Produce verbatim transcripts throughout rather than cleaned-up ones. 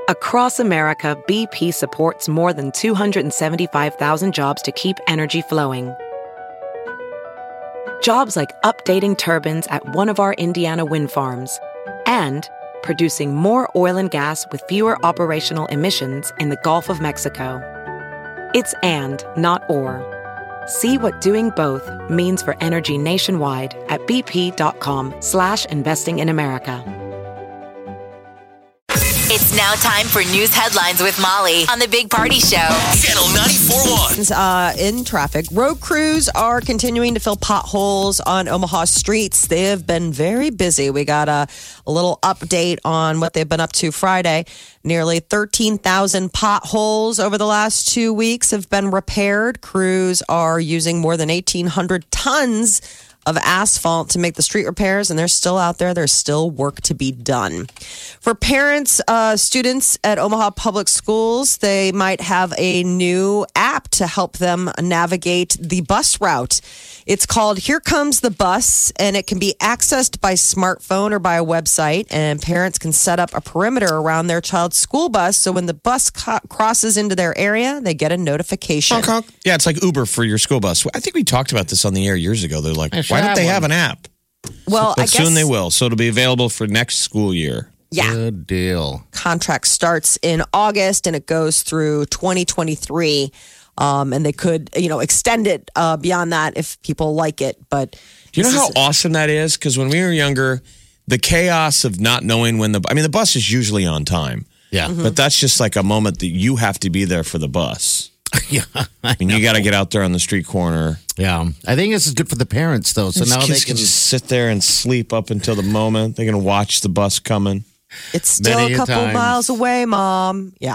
Across America, B P supports more than two hundred seventy-five thousand jobs to keep energy flowing. Jobs like updating turbines at one of our Indiana wind farms and producing more oil and gas with fewer operational emissions in the Gulf of Mexico. It's and, not or. See what doing both means for energy nationwide at bp.com slash investing in America. It's now time for news headlines with Molly on the Big Party Show. Channel ninety-four point one. Uh, in traffic, road crews are continuing to fill potholes on Omaha streets. They have been very busy. We got a, a little update on what they've been up to Friday. Nearly thirteen thousand potholes over the last two weeks have been repaired. Crews are using more than eighteen hundred tons of asphalt to make the street repairs, and they're still out there. There's still work to be done. For parents, uh, students at Omaha Public Schools, they might have a new app to help them navigate the bus route. It's called Here Comes the Bus, and it can be accessed by smartphone or by a website, and parents can set up a perimeter around their child's school bus, so when the bus co- crosses into their area, they get a notification. Honk, honk. Yeah, it's like Uber for your school bus. I think we talked about this on the air years ago. They're like, why don't they have an app? Well, but I guess soon they will. So it'll be available for next school year. Yeah. Good deal. Contract starts in August and it goes through twenty twenty-three. Um, and they could, you know, extend it uh, beyond that if people like it. But do you know how is- awesome that is? Because when we were younger, the chaos of not knowing when the I mean, the bus is usually on time. Yeah. Mm-hmm. But that's just like a moment that you have to be there for the bus. Yeah. I mean, you got to get out there on the street corner. Yeah. I think this is good for the parents, though. So These now kids they can can just sit there and sleep up until the moment. They're going to watch the bus coming. It's still Many a a couple times. miles away, Mom. Yeah.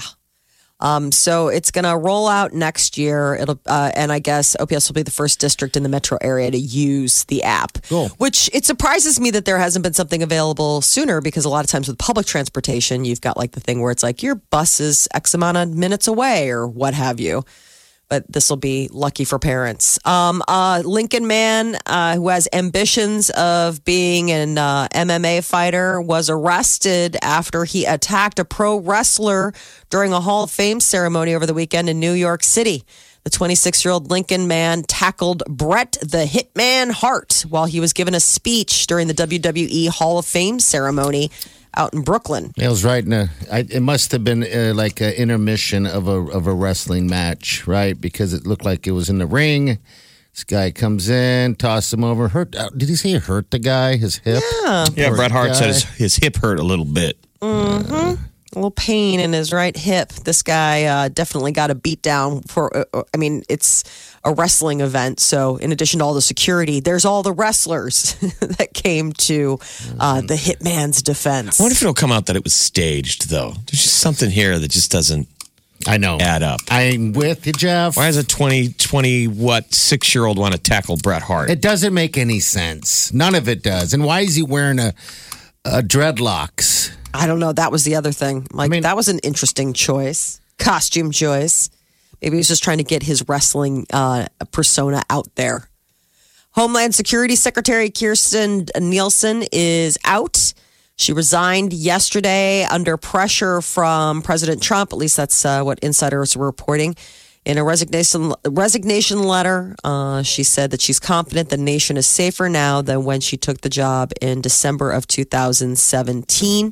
Um, so it's going to roll out next year. It'll, uh, and I guess O P S will be the first district in the metro area to use the app. Cool. Which it surprises me that there hasn't been something available sooner, because a lot of times with public transportation, you've got like the thing where it's like your bus is X amount of minutes away or what have you. But this will be lucky for parents. Um, a Lincoln man uh, who has ambitions of being an uh, M M A fighter was arrested after he attacked a pro wrestler during a Hall of Fame ceremony over the weekend in New York City. The twenty-six-year-old Lincoln man tackled Bret the Hitman Hart while he was given a speech during the W W E Hall of Fame ceremony out in Brooklyn. It was right in a. I, it must have been uh, like an intermission of a of a wrestling match, right? Because it looked like it was in the ring. This guy comes in, tosses him over. Hurt? Uh, did he say he hurt the guy? His hip? Yeah. Yeah, Poor Bret Hart guy. said his, his hip hurt a little bit. Mm-hmm. A little pain in his right hip. This guy uh, definitely got a beat down for, uh, I mean, it's a wrestling event. So in addition to all the security, there's all the wrestlers that came to uh, the hitman's defense. I wonder if it'll come out that it was staged, though. There's just something here that just doesn't I know. add up. I'm with you, Jeff. Why does a twenty, twenty, what, six-year-old want to tackle Bret Hart? It doesn't make any sense. None of it does. And why is he wearing a, a dreadlocks? I don't know. That was the other thing. Like, I mean- that was an interesting choice. Costume choice. Maybe he was just trying to get his wrestling uh, persona out there. Homeland Security Secretary Kirsten Nielsen is out. She resigned yesterday under pressure from President Trump. At least that's uh, what insiders were reporting. In a resignation resignation letter, uh, she said that she's confident the nation is safer now than when she took the job in December of two thousand seventeen.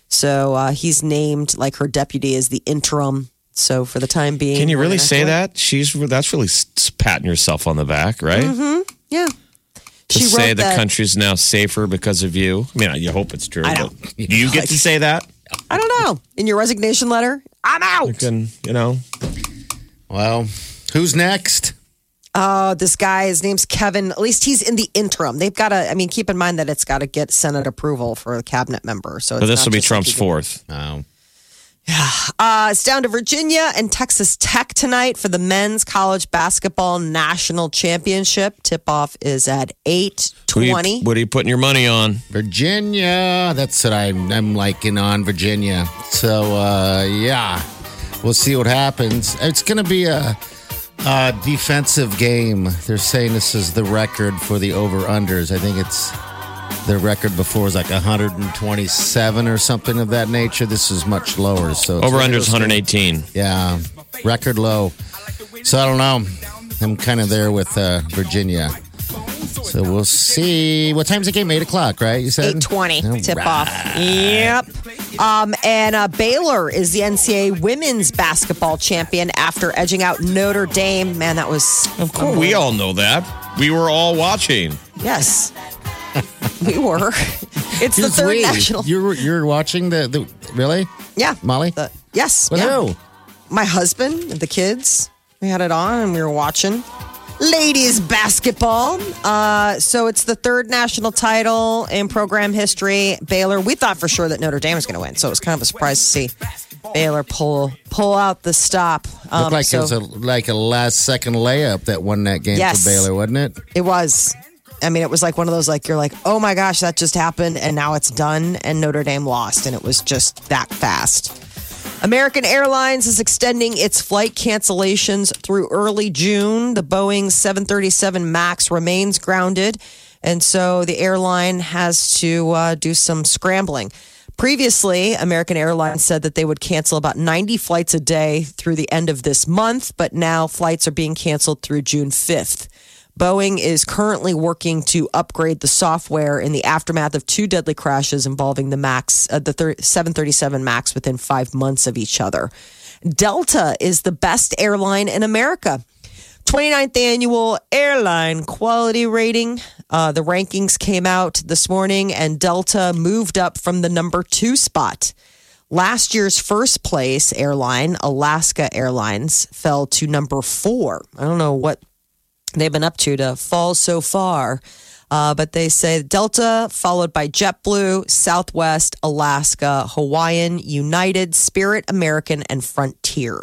So uh, he's named like her deputy as the interim. So for the time being, Can you we're really gonna say have to- that? She's That's really s- patting yourself on the back, right? Mm-hmm. Yeah. To She say wrote the that- country's now safer because of you. I mean, you hope it's true. I know. But do you get to say that? I don't know. In your resignation letter, I'm out. You can, you know. Well, who's next? Oh, this guy, his name's Kevin. At least he's in the interim. They've got to, I mean, keep in mind that it's got to get Senate approval for a cabinet member. So, it's So this not will be just Trump's like you can- fourth. Oh. Uh, it's down to Virginia and Texas Tech tonight for the men's college basketball national championship. Tip-off is at eight Who you- twenty. What are you putting your money on? Virginia. That's what I'm, I'm liking on Virginia. So, uh, yeah, we'll see what happens. It's going to be a, a defensive game. They're saying this is the record for the over-unders. I think it's Their record before was like one hundred twenty-seven or something of that nature. This is much lower. So it's Over-under is one hundred eighteen. Yeah, record low. So I don't know. I'm kind of there with uh, Virginia. So we'll see. What time's the game? eight o'clock, right? You said? eight twenty, All tip right. off. Yep. Um, and uh, Baylor is the N C double A women's basketball champion after edging out Notre Dame. Man, that was... Of course, we all know that. We were all watching. Yes. We were. It's the Who's third we? national... You're, you're watching the, the... Really? Yeah. Molly? The- yes. With yeah. who? My husband, the kids. We had it on and we were watching. Ladies basketball. Uh, so it's the third national title in program history. Baylor, we thought for sure that Notre Dame was going to win. So it was kind of a surprise to see Baylor pull pull out the stop. Um, Looked like so it was a, like a last second layup that won that game Yes. for Baylor, wasn't it? It was. I mean, it was like one of those, like, you're like, oh my gosh, that just happened. And now it's done. And Notre Dame lost. And it was just that fast. American Airlines is extending its flight cancellations through early June. The Boeing seven thirty-seven MAX remains grounded, and so the airline has to uh, do some scrambling. Previously, American Airlines said that they would cancel about ninety flights a day through the end of this month, but now flights are being canceled through June fifth. Boeing is currently working to upgrade the software in the aftermath of two deadly crashes involving the Max, uh, the seven thirty-seven MAX within five months of each other. Delta is the best airline in America. twenty-ninth annual airline quality rating. Uh, the rankings came out this morning, and Delta moved up from the number two spot. Last year's first place airline, Alaska Airlines, fell to number four. I don't know what they've been up to to fall so far. Uh, but they say Delta, followed by JetBlue, Southwest, Alaska, Hawaiian, United, Spirit, American, and Frontier.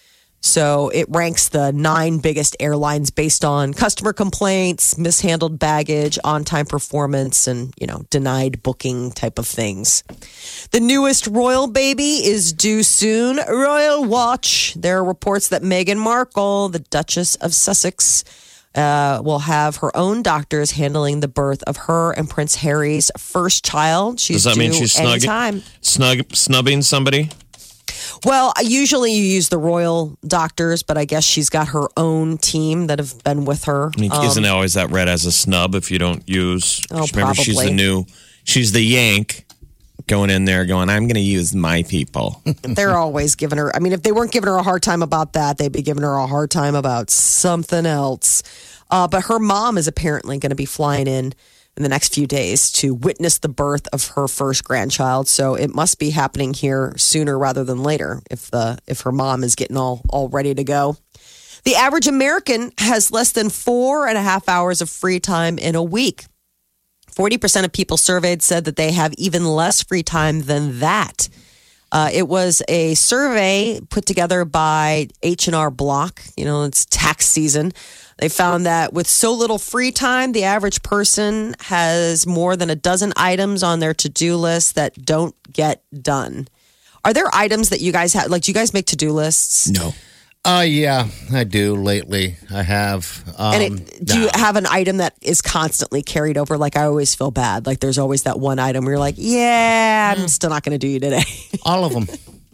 So it ranks the nine biggest airlines based on customer complaints, mishandled baggage, on-time performance, and, you know, denied booking type of things. The newest royal baby is due soon. Royal Watch. There are reports that Meghan Markle, the Duchess of Sussex, uh, will have her own doctors handling the birth of her and Prince Harry's first child. She's Does that due mean she's snug, anytime. snug, snubbing somebody? Well, usually you use the royal doctors, but I guess she's got her own team that have been with her. I mean, Um, isn't it always that read as a snub if you don't use? Oh, remember, she's the probably. new, she's the Yank going in there going, I'm going to use my people. They're always giving her. I mean, if they weren't giving her a hard time about that, they'd be giving her a hard time about something else. Uh, but her mom is apparently going to be flying in in the next few days to witness the birth of her first grandchild. So it must be happening here sooner rather than later if the if her mom is getting all, all ready to go. The average American has less than four and a half hours of free time in a week. forty percent of people surveyed said that they have even less free time than that. Uh, it was a survey put together by H and R Block. You know, it's tax season. They found that with so little free time, the average person has more than a dozen items on their to-do list that don't get done. Are there items that you guys have? Like, do you guys make to-do lists? No. Uh, yeah, I do lately. I have. Um, And it, do you nah. have an item that is constantly carried over? Like, I always feel bad. Like, there's always that one item where you're like, yeah, I'm still not going to do you today. All of them.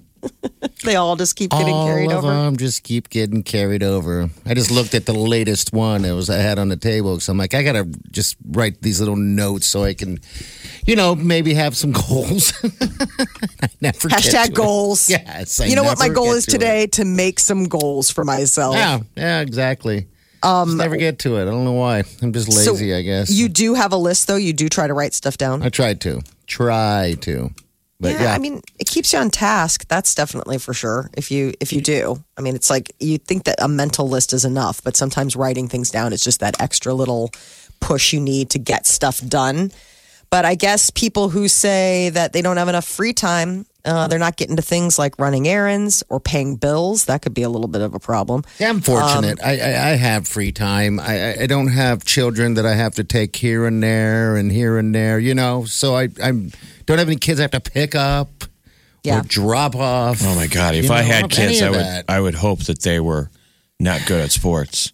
They all just keep getting All carried of over. them just keep getting carried over. I just looked at the latest one it was I had on the table because I'm like, I gotta just write these little notes so I can, you know, maybe have some goals. I never get to Hashtag it. goals. Yes, I you know what my never goal get is to today? it. To make some goals for myself. Yeah, yeah, exactly. Um, just never get to it. I don't know why. I'm just So lazy, I guess. You do have a list, though? You do try to write stuff down? I tried to. Try to. But yeah, I mean, it keeps you on task. That's definitely for sure. If you if you do, I mean, it's like you think that a mental list is enough, but sometimes writing things down is just that extra little push you need to get stuff done. But I guess people who say that they don't have enough free time, uh, they're not getting to things like running errands or paying bills. That could be a little bit of a problem. Yeah, I'm fortunate. I, I I have free time. I I- I don't have children that I have to take here and there and here and there. You know, so I I don't have any kids I have to pick up Yeah. or drop off. Oh my God! If You I know, had any kids, I of would that. I would hope that they were not good at sports.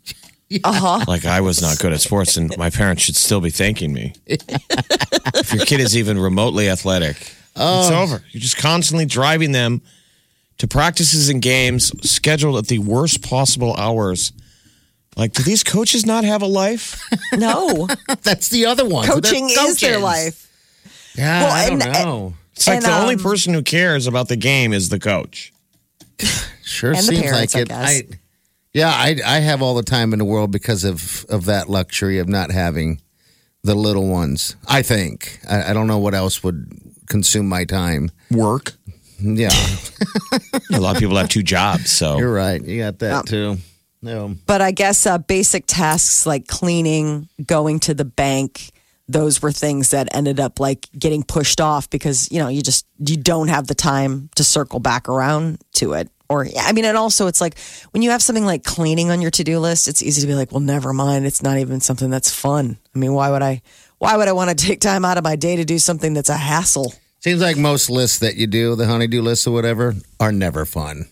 Uh-huh. Like I was not good at sports and my parents should still be thanking me. If your kid is even remotely athletic, oh. it's over. You're just constantly driving them to practices and games scheduled at the worst possible hours. Like, do these coaches not have a life? No. That's the other one. Coaching is their life. Yeah, well, I don't and, know. It's like and, the um, only person who cares about the game is the coach. Sure and seems the parents, like it. I guess. I, yeah, I, I have all the time in the world because of, of that luxury of not having the little ones. I think. I, I don't know what else would consume my time. Work. Yeah. A lot of people have two jobs, so. You're right. You got that um, too. No. But I guess uh, basic tasks like cleaning, going to the bank, those were things that ended up like getting pushed off because, you know, you just, you don't have the time to circle back around to it. Or, I mean, and also it's like when you have something like cleaning on your to-do list, it's easy to be like, well, never mind. It's not even something that's fun. I mean, why would I, why would I want to take time out of my day to do something that's a hassle? Seems like most lists that you do, the honey-do lists or whatever, are never fun.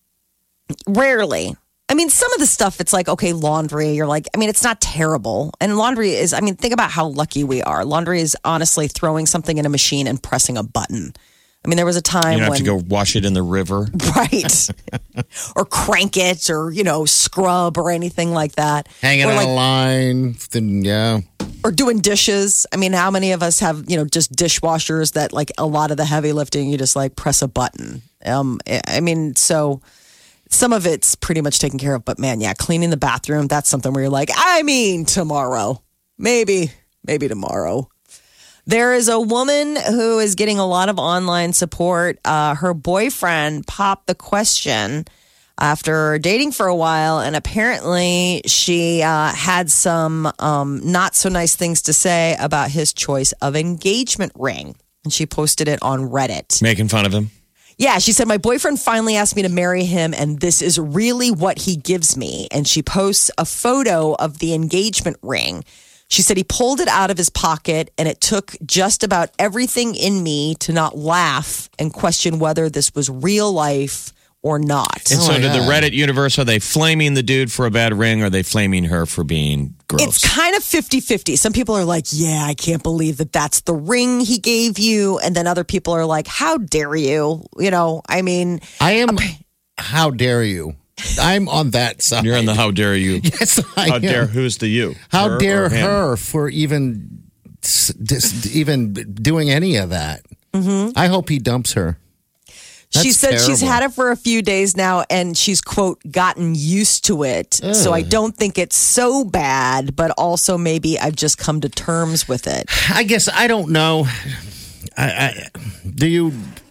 Rarely. I mean, some of the stuff, it's like, okay, laundry, you're like, I mean, it's not terrible. And laundry is, I mean, think about how lucky we are. Laundry is honestly throwing something in a machine and pressing a button. I mean, there was a time you don't when... have to go wash it in the river. Right. Or crank it or, you know, scrub or anything like that. Hanging or on like, a line, then, yeah. Or doing dishes. I mean, how many of us have, you know, just dishwashers that like a lot of the heavy lifting, you just like press a button. Um, I mean, so... Some of it's pretty much taken care of, but man, yeah, cleaning the bathroom, that's something where you're like, I mean, tomorrow. Maybe, maybe tomorrow. There is a woman who is getting a lot of online support. Uh, her boyfriend popped the question after dating for a while, and apparently she uh, had some um, not so nice things to say about his choice of engagement ring. And she posted it on Reddit. Making fun of him. Yeah, she said, my boyfriend finally asked me to marry him, and this is really what he gives me. And she posts a photo of the engagement ring. She said he pulled it out of his pocket, and it took just about everything in me to not laugh and question whether this was real life or not. And Oh so my to the God. Reddit universe, are they flaming the dude for a bad ring or are they flaming her for being gross? It's kind of fifty-fifty. Some people are like, yeah, I can't believe that that's the ring he gave you. And then other people are like, how dare you? You know, I mean... I am, how dare you? I'm on that side. You're on the how dare you. Yes, I How am. dare, who's the you? How Her dare or him? her for even, just even doing any of that? Mm-hmm. I hope he dumps her. She That's said she's terrible. had it for a few days now and she's, quote, gotten used to it. So I don't think it's so bad, but also maybe I've just come to terms with it. I guess I don't know. I, I do you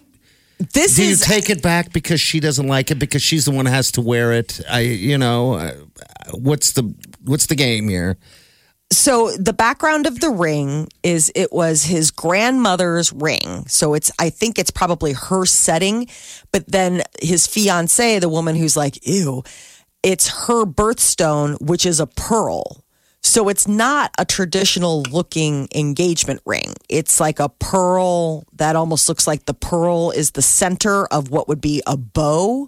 This do you is take it back because she doesn't like it because she's the one who has to wear it? I you know uh, what's the what's the game here? so the background of the ring is it was his grandmother's ring. So it's I think it's probably her setting, but then his fiance, the woman who's like, ew, it's her birthstone, which is a pearl. So it's not a traditional looking engagement ring. It's like a pearl that almost looks like the pearl is the center of what would be a bow.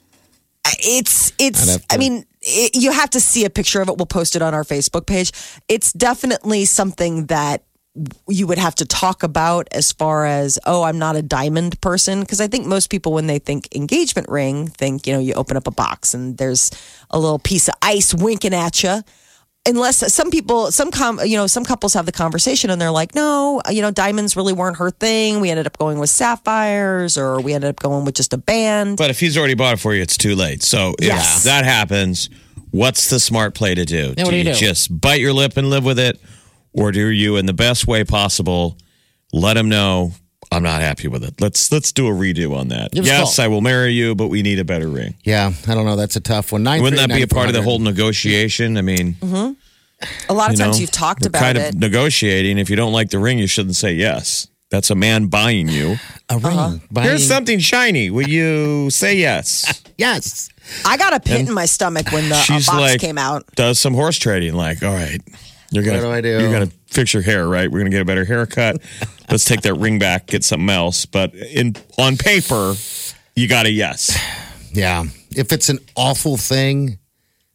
It's, I'd it's, have to- I mean, it, you have to see a picture of it. We'll post it on our Facebook page. It's definitely something that you would have to talk about as far as, oh, I'm not a diamond person. Because I think most people, when they think engagement ring, think, you know, you open up a box and there's a little piece of ice winking at you. Unless some people, some com, you know, some couples have the conversation and they're like, no, you know, diamonds really weren't her thing. We ended up going with sapphires, or we ended up going with just a band. But if he's already bought it for you, it's too late. So if Yes. that happens, what's the smart play to do? Yeah, what do you do? just bite your lip and live with it? Or do you, in the best way possible, let him know, I'm not happy with it. Let's let's do a redo on that. Give us a Yes, call. I will marry you, but we need a better ring. Yeah, I don't know. That's a tough one. nine Wouldn't that be a part of the whole three nine negotiation? I mean, A lot of you times know, you've talked we're about kind it. of negotiating. If you don't like the ring, you shouldn't say yes. That's a man buying you. A ring. Uh-huh. Buying- Here's something shiny. Will you say yes? Yes. I got a pit in my stomach when the uh, She's box like, came out. does some horse trading. Like, all right, you're gonna, What do I do? You're gonna fix your hair, right? We're gonna get a better haircut. Let's take that ring back, get something else. But in on paper, you got a yes. Yeah. If it's an awful thing, God,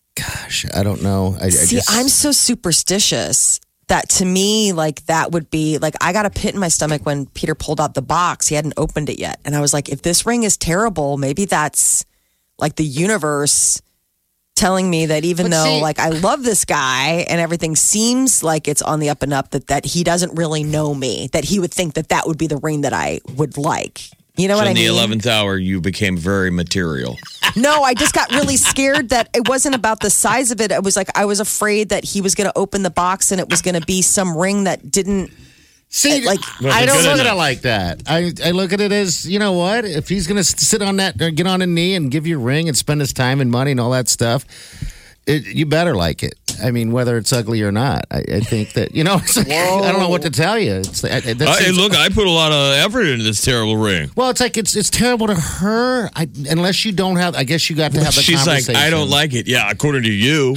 gosh, I don't know. I, See, I just, I'm so superstitious that to me, like, that would be like, I got a pit in my stomach when Peter pulled out the box. He hadn't opened it yet. And I was like, if this ring is terrible, maybe that's like the universe telling me that even But though see- like I love this guy and everything seems like it's on the up and up, that, that he doesn't really know me, that he would think that that would be the ring that I would like. You know So what I in mean? the eleventh hour, you became very material. No, I just got really scared that it wasn't about the size of it. It was like I was afraid that he was going to open the box and it was going to be some ring that didn't. See, like- I don't Good look at enough. it like that. I, I look at it as, you know what? If he's going to sit on that, or get on a knee and give you a ring and spend his time and money and all that stuff, it, you better like it. I mean, whether it's ugly or not, I, I think that, you know, it's like, I don't know what to tell you. It's like, that Uh, hey, seems- look, I put a lot of effort into this terrible ring. Well, it's like it's it's terrible to her. I, unless you don't have, I guess you got to have the She's like, conversation. I don't like it. Yeah, according to you.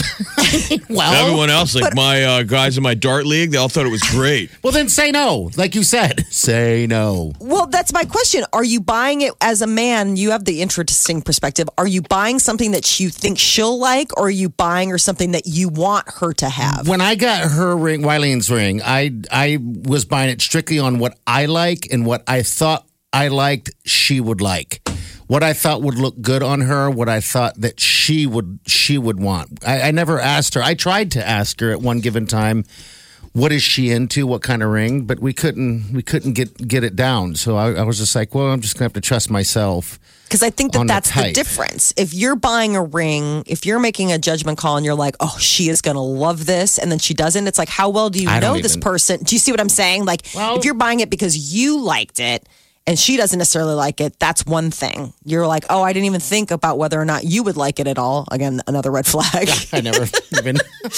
Well, Everyone else, like my uh, guys in my dart league, they all thought it was great. well, then say no. Like you said, say no. Well, that's my question. Are you buying it as a man? You have the interesting perspective. Are you buying something that you think she'll like, or are you buying her something that you want her to have? When I got her ring, Wileen's ring, I I was buying it strictly on what I like and what I thought I liked she would like. What I thought would look good on her, what I thought that she would she would want. I, I never asked her. I tried to ask her at one given time, what is she into, what kind of ring, but we couldn't we couldn't get get it down. So I, I was just like, well, I'm just gonna have to trust myself. Because I think that on the that's the type. difference. If you're buying a ring, if you're making a judgment call and you're like, oh, she is going to love this, and then she doesn't, it's like, how well do you I know don't this even- person? Do you see what I'm saying? Like, Well- if you're buying it because you liked it and she doesn't necessarily like it, that's one thing. You're like, oh, I didn't even think about whether or not you would like it at all. Again, another red flag. I never even.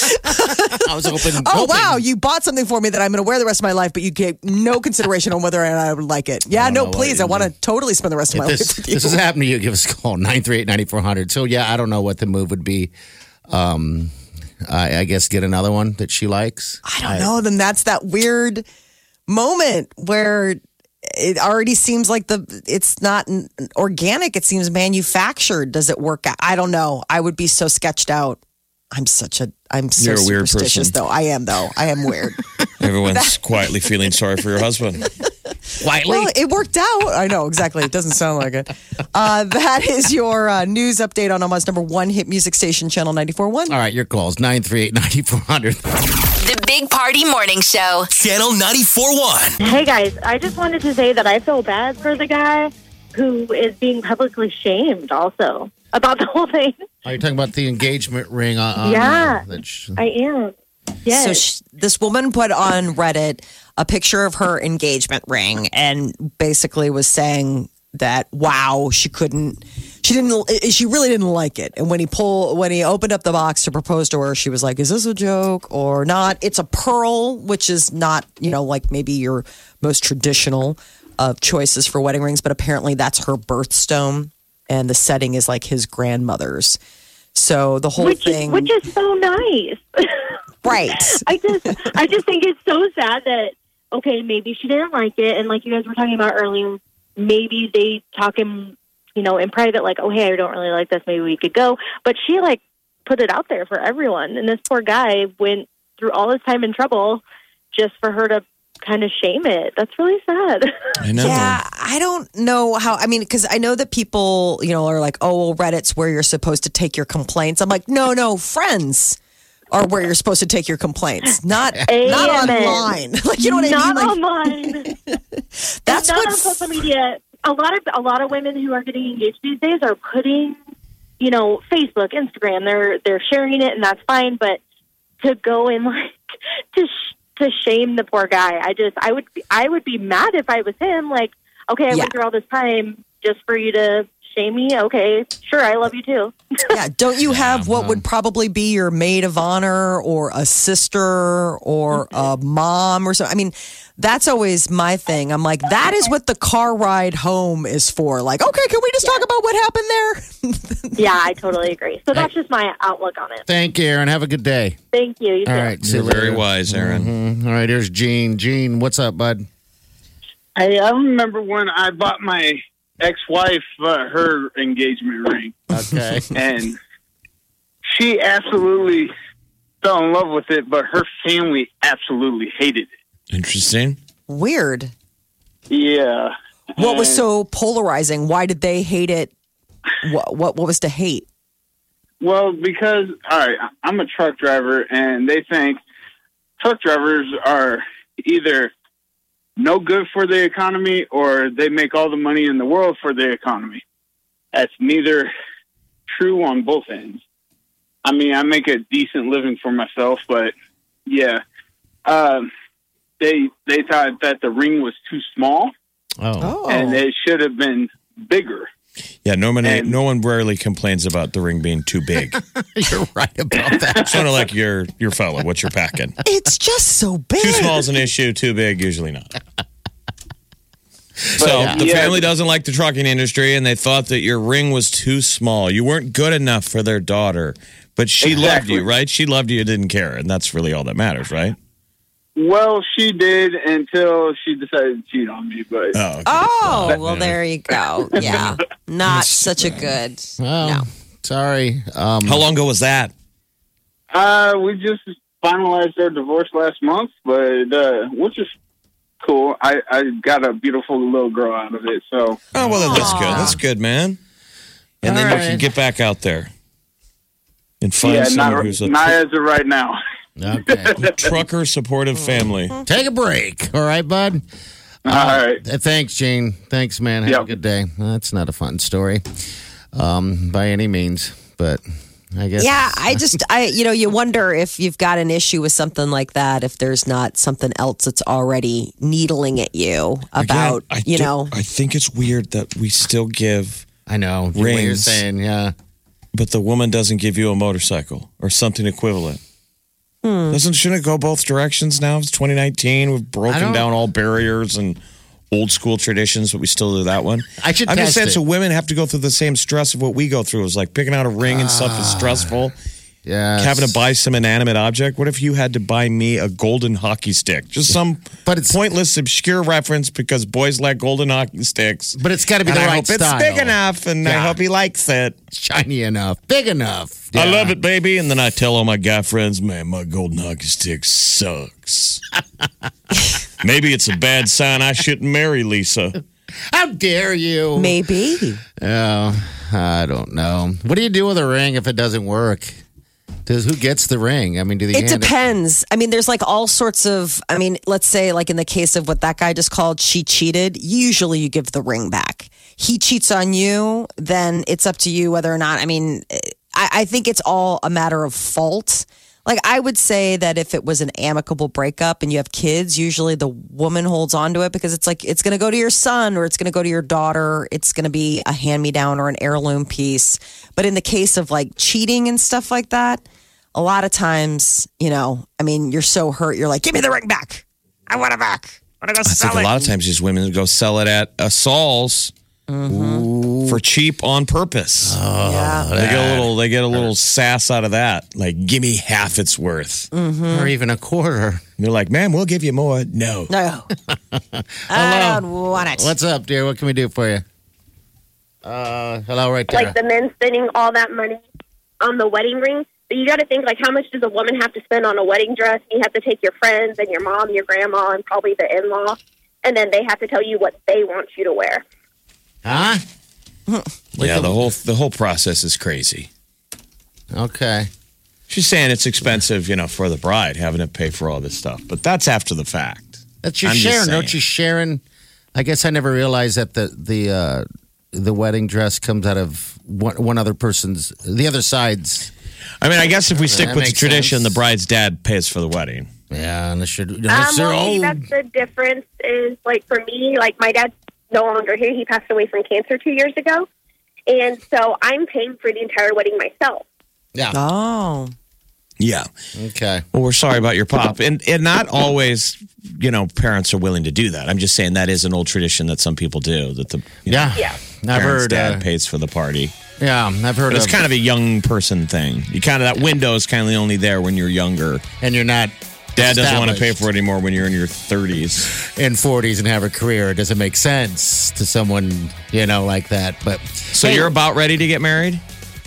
I was hoping. Oh, hoping. wow, you bought something for me that I'm going to wear the rest of my life, but you gave no consideration on whether or not I would like it. Yeah, don't no, know what please. I you want to do. totally spend the rest of my If life this, with you. this has happened to you, give us a call, nine three eight, nine four zero zero. So, yeah, I don't know what the move would be. Um, I, I guess get another one that she likes. I don't know. Then that's that weird moment where it already seems like the it's not n- organic. It seems manufactured. Does it work out? I don't know. I would be so sketched out. I'm such a I'm so You're a weird superstitious person. though. I am though. I am weird. Everyone's quietly feeling sorry for your husband. Quietly. Well, it worked out. I know exactly. It doesn't sound like it. Uh, that is your uh, news update on Omaha's number one hit music station, Channel ninety-four point one. All right, your calls, nine three eight, nine four zero zero. The Big Party Morning Show. Channel ninety-four point one. Hey guys, I just wanted to say that I feel bad for the guy who is being publicly shamed also about the whole thing. Are you talking about the engagement ring on? on Yeah. uh, that sh- I am. Yes. So sh this woman put on Reddit a picture of her engagement ring and basically was saying that wow, she couldn't, she didn't, she really didn't like it. And when he pulled, when he opened up the box to propose to her, she was like, "Is this a joke or not?" It's a pearl, which is not, you know, like maybe your most traditional of choices for wedding rings, but apparently that's her birthstone, and the setting is like his grandmother's. So the whole which thing, is, which is so nice. right? I just I just think it's so sad that okay, maybe she didn't like it, and like you guys were talking about earlier, maybe they talk in you know in private, like, oh hey, I don't really like this, maybe we could go. But she like put it out there for everyone, and this poor guy went through all this time and trouble just for her to kind of shame it. That's really sad. I know. Yeah, I don't know how. I mean, because I know that people, you know, are like, "Oh, well, Reddit's where you're supposed to take your complaints." I'm like, no, no, friends are where you're supposed to take your complaints, not not Amen. online. Like, you know what Not I mean? Like, online. that's not what. on social media. A lot of a lot of women who are getting engaged these days are putting, you know, Facebook, Instagram. They're they're sharing it, and that's fine. But to go and like to sh- to shame the poor guy, I just I would be, I would be mad if I was him. Like, okay, I Yeah. went through all this time just for you to shame me. Okay, sure, I love you too. Yeah, don't you have what would probably be your maid of honor or a sister or a mom or something? I mean, that's always my thing. I'm like, that is what the car ride home is for. Like, okay, can we just talk about what happened there? Yeah, I totally agree. So that's just my outlook on it. Thank you, Aaron. Have a good day. Thank you. You All too. right. see You're you very later. wise, Aaron. Mhm. All right, here's Gene. Gene, what's up, bud? I, I remember when I bought my ex-wife uh, her engagement ring, Okay. and she absolutely fell in love with it, but her family absolutely hated it. Interesting. Weird. Yeah. What was And- so polarizing? Why did they hate it? What what, what was to hate? Well, because, all right, I'm a truck driver, and they think truck drivers are either no good for the economy or they make all the money in the world for the economy. That's neither true on both ends. I mean, I make a decent living for myself, but yeah, um, they they thought that the ring was too small Oh. and it should have been bigger. Yeah, no one, And- no one rarely complains about the ring being too big. You're right about that. Sort of like your your fella, what you're packing. It's just so big. Too small is an issue, too big, usually not. So yeah. the Yeah. family doesn't like the trucking industry, and they thought that your ring was too small. You weren't good enough for their daughter, but she loved Exactly. you, right? She loved you, didn't care, and that's really all that matters, right? Well, she did until she decided to cheat on me, but Oh, okay. Oh, well, there you go. Yeah. Not such a good. Oh, No. sorry. Um, How long ago was that? Uh, we just finalized our divorce last month, but uh, which is cool. I, I got a beautiful little girl out of it, so Oh, well, that's good. That's good, man. And then All you can right. get back out there and find yeah, someone not, who's a not as of right now. Okay. trucker supportive family. Take a break. All right, bud? All right. Uh, thanks, Gene. Thanks, man. Have a Yep. good day. That's not a fun story um, by any means, but I guess. Yeah, I just, I, you know, you wonder if you've got an issue with something like that, if there's not something else that's already needling at you about, Again, I you do- know, I think it's weird that we still give, I know. What you're Rings. saying, yeah. but the woman doesn't give you a motorcycle or something equivalent. Doesn't shouldn't it go both directions now? It's twenty nineteen. We've I broken don't- down all barriers and old school traditions, but we still do that one. I should I'm just test saying, it. so women have to go through the same stress of what we go through. It's like picking out a ring and stuff is stressful. Yeah. Having to buy some inanimate object. What if you had to buy me a golden hockey stick? Just some But it's- pointless, obscure reference because boys like golden hockey sticks. But it's got to be And the I right hope style. it's big enough, and I Yeah. hope he likes it. Shiny enough. Big enough. I Yeah. love it, baby. And then I tell all my guy friends, man, my golden hockey stick sucks. Maybe it's a bad sign I shouldn't marry Lisa. How dare you? maybe. Oh, I don't know. What do you do with a ring if it doesn't work? Does who gets the ring? I mean, do they It hand depends. I mean, there's like all sorts of, I mean, let's say, like in the case of what that guy just called, she cheated. Usually you give the ring back. He cheats on you, then it's up to you whether or not, I mean, I, I think it's all a matter of fault. Like, I would say that if it was an amicable breakup and you have kids, usually the woman holds on to it because it's like, it's going to go to your son or it's going to go to your daughter. It's going to be a hand me down or an heirloom piece. But in the case of like cheating and stuff like that, a lot of times, you know, I mean, you're so hurt, you're like, give me the ring back. I want it back. I want to go I sell think a it. lot of times these women go sell it at a Saul's for cheap on purpose. yeah. they get a little, they get a little sass out of that. Like, give me half its worth. or even a quarter? And they're like, man, we'll give you more. No. No. I don't want it. What's up, dear? What can we do for you? Uh, hello, right there. Like the men spending all that money on the wedding ring. But you got to think, like, how much does a woman have to spend on a wedding dress? You have to take your friends and your mom, your grandma, and probably the in-law, and then they have to tell you what they want you to wear. Huh? Yeah, the whole the whole process is crazy. Okay. She's saying it's expensive, you know, for the bride having to pay for all this stuff, but that's after the fact. That's your I'm just sharing, saying. don't you, Sharon? I guess I never realized that the the uh, the wedding dress comes out of one, one other person's, the other side's. I mean, I guess if we stick That with the makes tradition, sense. the bride's dad pays for the wedding. Yeah, unless you're, Um, unless you're well, maybe old. that's the difference. Is like for me, like my dad's no longer here. He passed away from cancer two years ago, and so I'm paying for the entire wedding myself. Yeah. Oh. Yeah. Okay. Well, we're sorry about your pop. And and not always, you know, parents are willing to do that. I'm just saying that is an old tradition that some people do, that the you know, Yeah. Yeah. I've parents' heard. dad Uh, pays for the party. yeah, I've heard But it's of. kind of a young person thing. You kind of, that window is kind of only there when you're younger. and you're not. Dad doesn't want to pay established for it anymore when you're in your thirties. in forties and have a career. It doesn't make sense to someone, you know, like that. But So Hey, you're about ready to get married?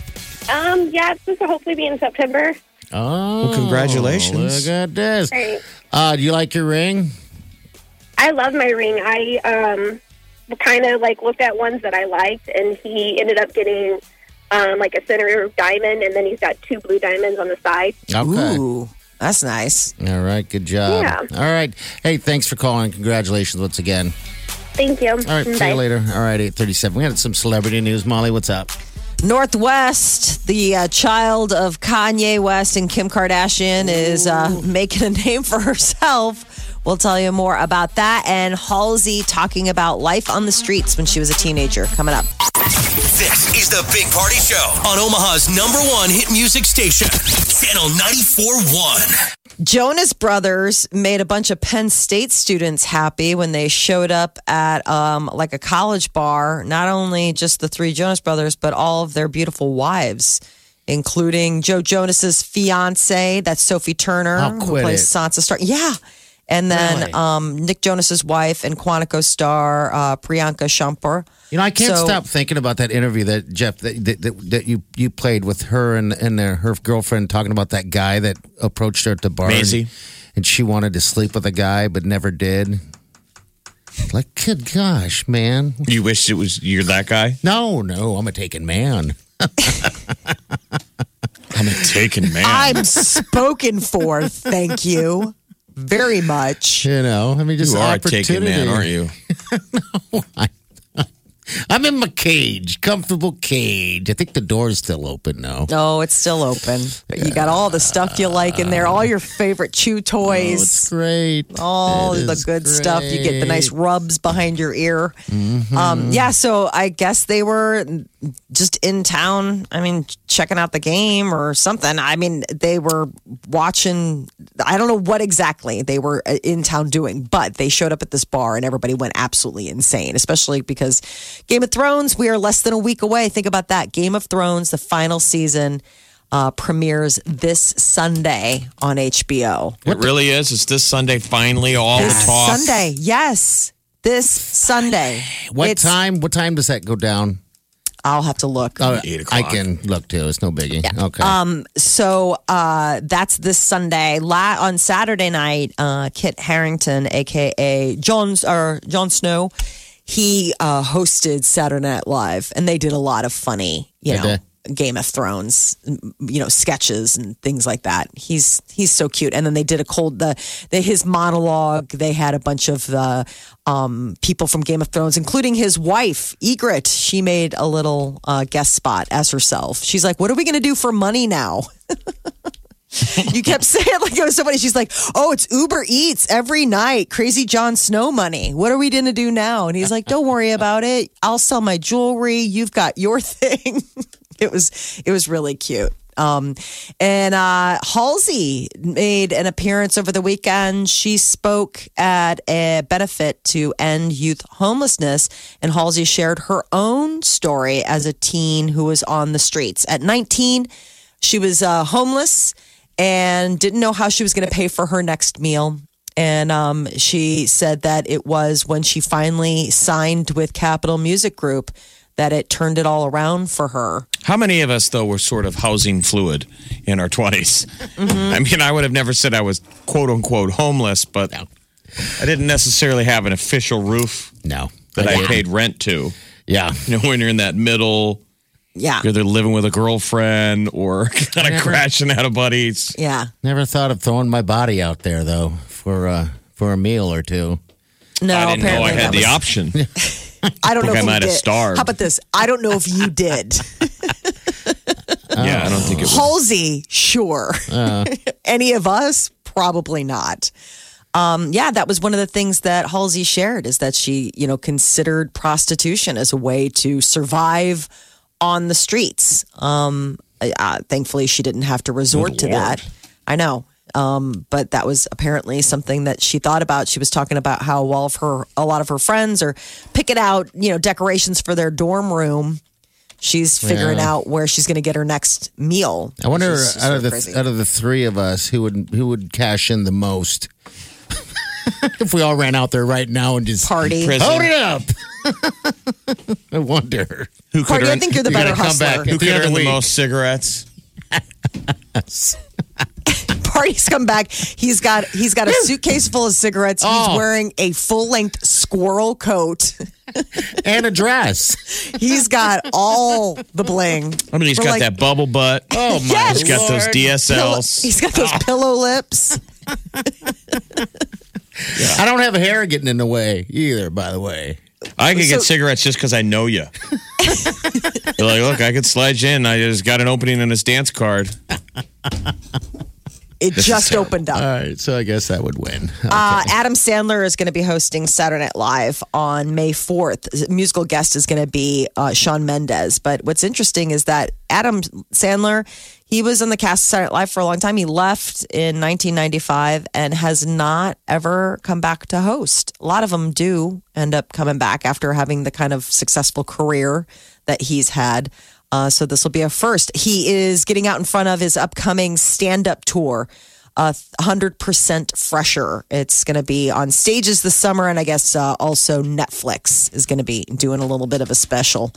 Um, yeah, it's supposed to hopefully be in September. Oh, Well, congratulations. Look at this. Right. Uh, do you like your ring? I love my ring. I um kind of like looked at ones that I liked, and he ended up getting um like a center diamond, and then he's got two blue diamonds on the side. Okay. Ooh, that's nice. All right. Good job. Yeah. All right. Hey, thanks for calling. Congratulations once again. Thank you. All right. See Bye. you later. All right. eight thirty-seven. We had some celebrity news. Molly, what's up? Northwest, the uh, child of Kanye West and Kim Kardashian, is uh, making a name for herself. We'll tell you more about that. And Halsey talking about life on the streets when she was a teenager. Coming up. This is the Big Party Show on Omaha's number one hit music station, Channel ninety-four point one. Jonas Brothers made a bunch of Penn State students happy when they showed up at um, like a college bar. Not only just the three Jonas Brothers, but all of their beautiful wives, including Joe Jonas's fiance, that's Sophie Turner, Oh, who quit plays it. Sansa Stark. Yeah. And then Really? um, Nick Jonas's wife and Quantico star uh, Priyanka Chopra. You know, I can't So- stop thinking about that interview that Jeff that that, that, that you you played with her and and their, her girlfriend talking about that guy that approached her at the bar, Maisie. and, and she wanted to sleep with a guy but never did. Like, good gosh, man! You wish it was you're that guy? No, no, I'm a taken man. I'm a taken man. I'm spoken for, thank you very much. You know, I mean, just you are a opportunity. taken man, aren't you? I'm in my cage, comfortable cage. I think the door's still open now. Oh, it's still open. You got all the stuff you like in there, all your favorite chew Oh, it's toys, great. all It the is good stuff. You get the nice great. rubs behind your ear. Mm-hmm. Um, yeah, so I guess they were just in town. I mean, checking out the game or something. I mean, they were watching. I don't know what exactly they were in town doing, but they showed up at this bar and everybody went absolutely insane, especially because Game of Thrones, we are less than a week away. Think about that. Game of Thrones, the final season, uh, premieres this Sunday on H B O. It really is. It's this Sunday finally all This the talk. Sunday, yes. This Sunday. What It's- time? What time does that go down? I'll have to look. Oh, Eight I o'clock. can look too. It's no biggie. Okay. Um, so uh, that's this Sunday. La- on Saturday night, uh, Kit Harington, aka Jon or Jon Snow, he uh, hosted Saturday Night Live, and they did a lot of funny, you Did know, they? Game of Thrones, you know, sketches and things like that. He's he's so cute. And then they did a cold the, the his monologue. They had a bunch of the um, people from Game of Thrones, including his wife Ygritte. She made a little uh, guest spot as herself. She's like, "What are we going to do for money now?" You kept saying like it was so funny. She's like, "Oh, it's Uber Eats every night. Crazy Jon Snow money. What are we going to do now?" And he's like, "Don't worry about it. I'll sell my jewelry. You've got your thing." It was it was really cute. Um, and uh, Halsey made an appearance over the weekend. She spoke at a benefit to end youth homelessness, and Halsey shared her own story as a teen who was on the streets. At nineteen, she was uh, homeless and didn't know how she was going to pay for her next meal. And um, she said that it was when she finally signed with Capitol Music Group that it turned it all around for her. How many of us, though, were sort of housing fluid in our twenties? Mm-hmm. I mean, I would have never said I was quote unquote homeless, but I didn't necessarily have an official roof no. that I, didn't. paid rent to. Yeah. You know, when you're in that middle, Yeah. you're either living with a girlfriend or kind of Never. crashing out of buddies. Yeah. Never thought of throwing my body out there though for uh, for a meal or two. No, I didn't know apparently I had that the was- option. I don't know think if I you might have did. starved. How about this? I don't know if you did. Yeah, I don't think it was. Halsey, sure. Any of us, probably not. Um, yeah, that was one of the things that Halsey shared is that she, you know, considered prostitution as a way to survive on the streets. Um, uh, thankfully, she didn't have to resort Good to Lord. that. I know. Um, but that was apparently something that she thought about. She was talking about how all of her, a lot of her friends are picking out, you know, decorations for their dorm room. She's figuring Yeah. out where she's going to get her next meal. I wonder which is just out so of the crazy. out of the three of us who would who would cash in the most if we all ran out there right now and just Party. Prison. hold it up. I wonder. Who could Party, I earn, think you're the You better gotta come hustler. back. who At the could end of earn the the week. most cigarettes? Party's come back. He's got he's got a suitcase full of cigarettes. He's Oh. wearing a full length squirrel coat. And a dress. He's got all the bling. I mean, he's We're got like- that bubble butt. Oh, my Yes. He's got those Lord. D S Pillow- Ls. he's got those pillow lips. I don't have hair getting in the way either, by the way. I could get So- cigarettes just because I know you. You're like, look, I could slide you in. I just got an opening in his dance card. It is just terrible. opened up. All right, so I guess that would win. Uh, Adam Sandler is going to be hosting Saturday Night Live on May fourth. The musical guest is going to be uh, Shawn Mendes. But what's interesting is that Adam Sandler, he was on the cast of Saturday Night Live for a long time. He left in nineteen ninety-five and has not ever come back to host. A lot of them do end up coming back after having the kind of successful career that he's had. Uh, so this will be a first. He is getting out in front of his upcoming stand-up tour, uh, one hundred percent Fresher. It's going to be on stages this summer, and I guess uh, also Netflix is going to be doing a little bit of a special.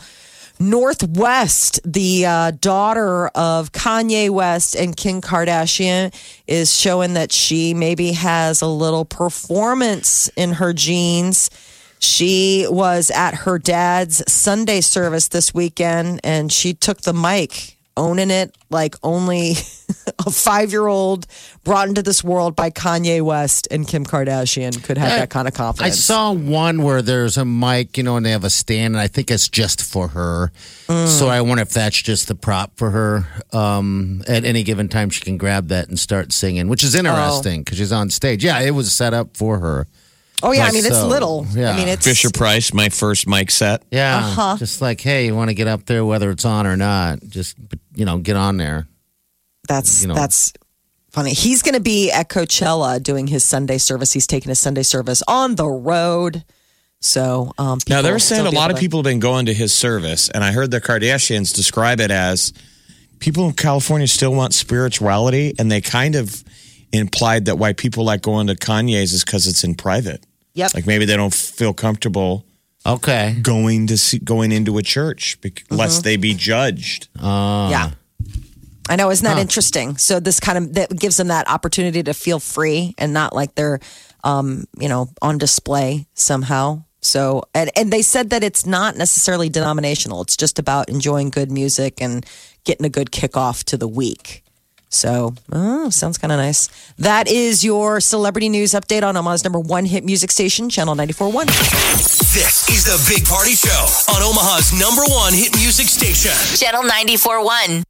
Northwest, the uh, daughter of Kanye West and Kim Kardashian, is showing that she maybe has a little performance in her genes. She was at her dad's Sunday service this weekend, and she took the mic, owning it like only a five-year-old brought into this world by Kanye West and Kim Kardashian could have I- that kind of I confidence. saw one where there's a mic, you know, and they have a stand, and I think it's just for her. So I wonder if that's just the prop for her. Um, at any given time, she can grab that and start singing, which is interesting because she's on stage. Yeah, it was set up for her. Oh yeah, I Like mean it's so. little. Yeah. I mean it's Fisher Price, my first mic set. Yeah, Uh-huh. just like, hey, you want to get up there, whether it's on or not, just, you know, get on there. That's you know. that's funny. He's going to be at Coachella doing his Sunday service. He's taking his Sunday service on the road. So um, Now, people they were will saying still a be lot able of to- people have been going to his service, and I heard the Kardashians describe it as people in California still want spirituality, and they kind of implied that why people like going to Kanye's is because it's in private. Yep. Like maybe they don't feel comfortable Okay. going to see, going into a church bec- lest they be judged. Uh, Yeah. I know, isn't that interesting? So this kind of that gives them that opportunity to feel free and not like they're, um, you know, on display somehow. So and and they said that it's not necessarily denominational. It's just about enjoying good music and getting a good kickoff to the week. So, oh, sounds kind of nice. That is your celebrity news update on Omaha's number one hit music station, Channel ninety-four point one. This is the Big Party Show on Omaha's number one hit music station. Channel ninety-four point one.